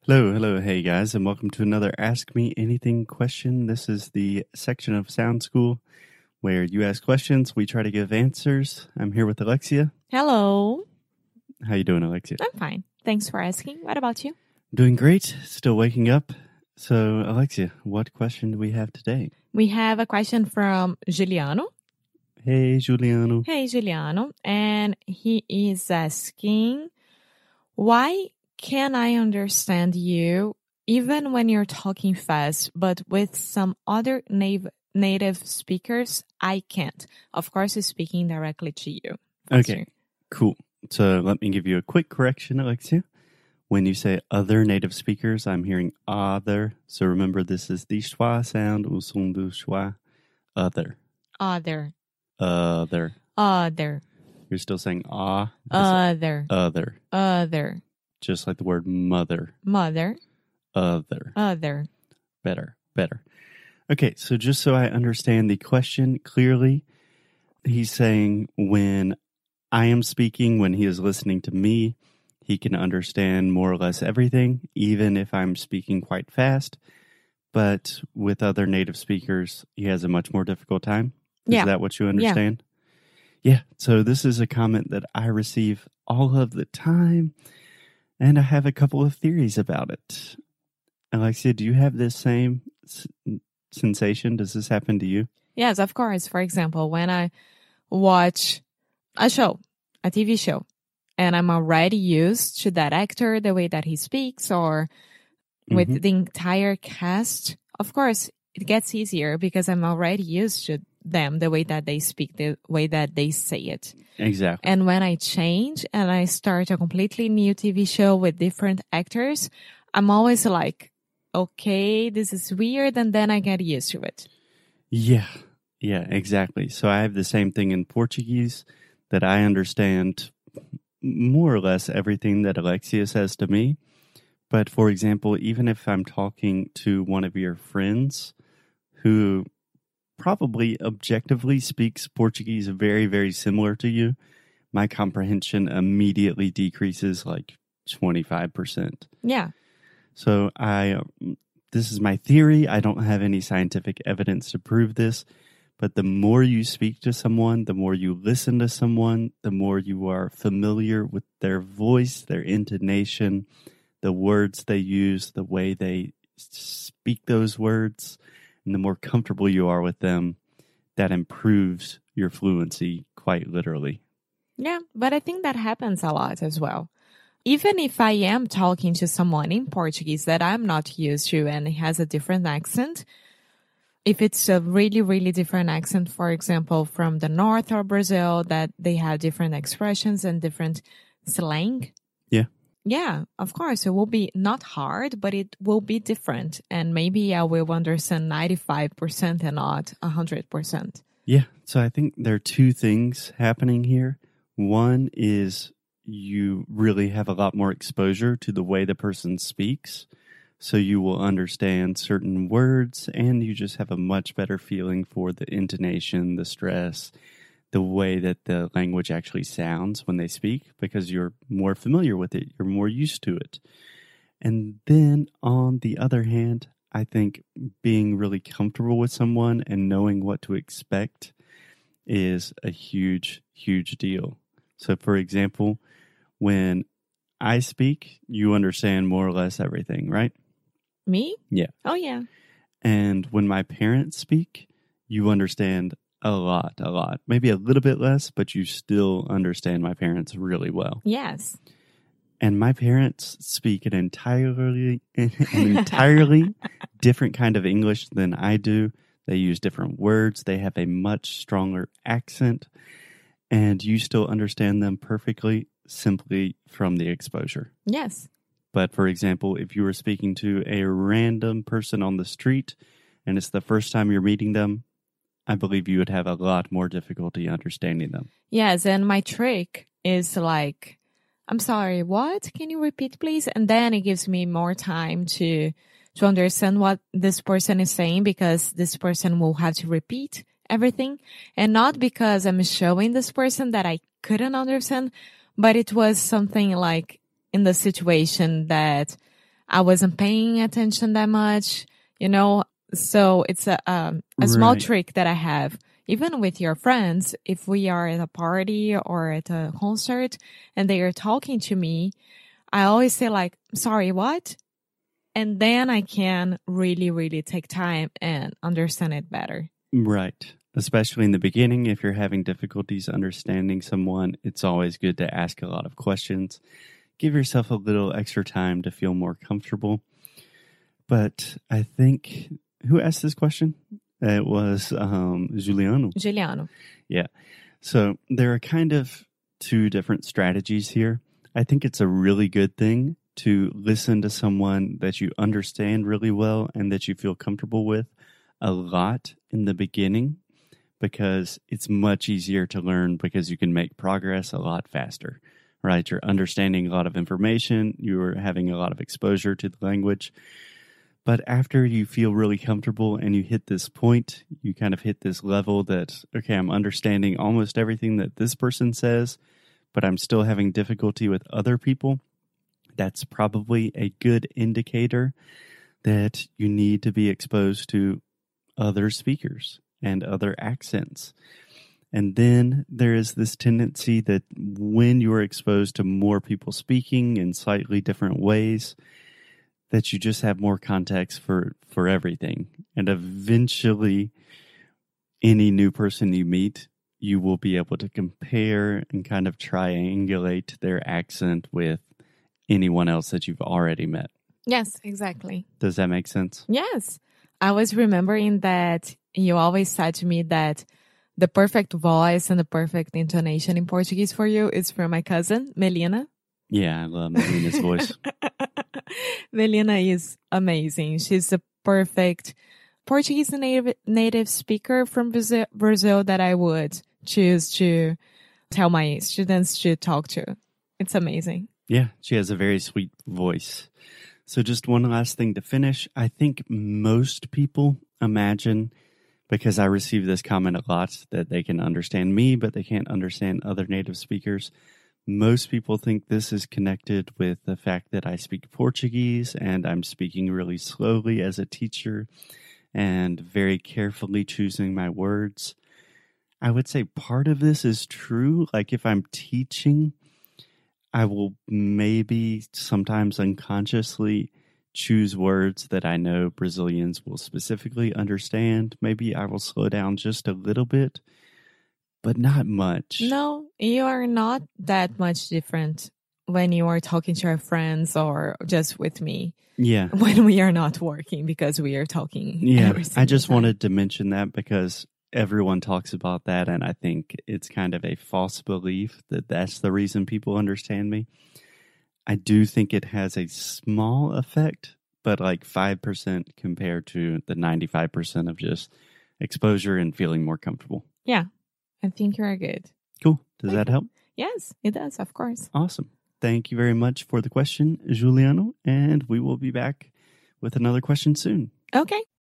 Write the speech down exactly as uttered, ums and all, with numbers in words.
Hello, hello, hey guys, and welcome to another Ask Me Anything question. This is the section of Sound School where you ask questions, we try to give answers. I'm here with Alexia. Hello. How you doing, Alexia? I'm fine. Thanks for asking. What about you? Doing great. Still waking up. So, Alexia, what question do we have today? We have a question from Giuliano. Hey, Giuliano. Hey, Giuliano. And he is asking, why can I understand you even when you're talking fast, but with some other nav- native speakers, I can't? Of course, he's speaking directly to you. Okay, cool. So let me give you a quick correction, Alexia. When you say other native speakers, I'm hearing other. So remember, this is the schwa sound, au son du schwa. Other. Other. Other. Other. You're still saying ah. Other. Other. Other. Just like the word mother. Mother. Other. Other. Better. Better. Okay, so just so I understand the question clearly, he's saying when I am speaking, when he is listening to me, he can understand more or less everything, even if I'm speaking quite fast. But with other native speakers, he has a much more difficult time. Is Yeah. that what you understand? Yeah. yeah. So this is a comment that I receive all of the time, and I have a couple of theories about it. Alexia, do you have this same s- sensation? Does this happen to you? Yes, of course. For example, when I watch a show, a T V show, and I'm already used to that actor, the way that he speaks, or with Mhm. the entire cast, of course, it gets easier because I'm already used to them, the way that they speak, the way that they say it. Exactly. And when I change and I start a completely new T V show with different actors, I'm always like, okay, this is weird, and then I get used to it. Yeah, yeah, exactly. So I have the same thing in Portuguese, that I understand more or less everything that Alexia says to me. But for example, even if I'm talking to one of your friends who probably objectively speaks Portuguese very, very similar to you, my comprehension immediately decreases like twenty-five percent. Yeah. So I, this is my theory. I don't have any scientific evidence to prove this, but the more you speak to someone, the more you listen to someone, the more you are familiar with their voice, their intonation, the words they use, the way they speak those words, and the more comfortable you are with them, that improves your fluency quite literally. Yeah, but I think that happens a lot as well. Even if I am talking to someone in Portuguese that I'm not used to and has a different accent, if it's a really, really different accent, for example, from the north of Brazil, that they have different expressions and different slang. Yeah. Yeah, of course, it will be not hard, but it will be different. And maybe I will understand ninety-five percent and not one hundred percent. Yeah. So I think there are two things happening here. One is you really have a lot more exposure to the way the person speaks. So you will understand certain words, and you just have a much better feeling for the intonation, the stress, the way that the language actually sounds when they speak, because you're more familiar with it. You're more used to it. And then on the other hand, I think being really comfortable with someone and knowing what to expect is a huge, huge deal. So for example, when I speak, you understand more or less everything, right? Me? Yeah. Oh, yeah. And when my parents speak, you understand a lot, a lot. Maybe a little bit less, but you still understand my parents really well. Yes. And my parents speak an entirely, an entirely different kind of English than I do. They use different words. They have a much stronger accent. And you still understand them perfectly simply from the exposure. Yes. But for example, if you were speaking to a random person on the street and it's the first time you're meeting them, I believe you would have a lot more difficulty understanding them. Yes, and my trick is like, I'm sorry, what? Can you repeat, please? And then it gives me more time to to understand what this person is saying, because this person will have to repeat everything. And not because I'm showing this person that I couldn't understand, but it was something like in the situation that I wasn't paying attention that much, you know. So it's a um, a small Right. trick that I have. Even with your friends, if we are at a party or at a concert and they are talking to me, I always say like, sorry, what? And then I can really, really take time and understand it better. Right. Especially in the beginning, if you're having difficulties understanding someone, it's always good to ask a lot of questions. Give yourself a little extra time to feel more comfortable. But I think, who asked this question? It was um, Juliano. Juliano. Yeah. So there are kind of two different strategies here. I think it's a really good thing to listen to someone that you understand really well and that you feel comfortable with a lot in the beginning, because it's much easier to learn because you can make progress a lot faster, right? You're understanding a lot of information. You're having a lot of exposure to the language. But after you feel really comfortable and you hit this point, you kind of hit this level that, okay, I'm understanding almost everything that this person says, but I'm still having difficulty with other people. That's probably a good indicator that you need to be exposed to other speakers and other accents. And then there is this tendency that when you are exposed to more people speaking in slightly different ways, that you just have more context for, for everything. And eventually, any new person you meet, you will be able to compare and kind of triangulate their accent with anyone else that you've already met. Yes, exactly. Does that make sense? Yes. I was remembering that you always said to me that the perfect voice and the perfect intonation in Portuguese for you is from my cousin, Melina. Yeah, I love Melina's voice. Melina is amazing. She's a perfect Portuguese native native speaker from Brazil, Brazil that I would choose to tell my students to talk to. It's amazing. Yeah, she has a very sweet voice. So just one last thing to finish. I think most people imagine, because I receive this comment a lot, that they can understand me, but they can't understand other native speakers. Most people think this is connected with the fact that I speak Portuguese and I'm speaking really slowly as a teacher and very carefully choosing my words. I would say part of this is true. Like if I'm teaching, I will maybe sometimes unconsciously choose words that I know Brazilians will specifically understand. Maybe I will slow down just a little bit, but not much. No, you are not that much different when you are talking to your friends or just with me. Yeah. When we are not working, because we are talking. Yeah. every I just single time. wanted to mention that because everyone talks about that, and I think it's kind of a false belief that that's the reason people understand me. I do think it has a small effect, but like five percent compared to the ninety-five percent of just exposure and feeling more comfortable. Yeah, I think you are good. Cool. Does Okay. that help? Yes, it does, of course. Awesome. Thank you very much for the question, Juliano, and we will be back with another question soon. Okay.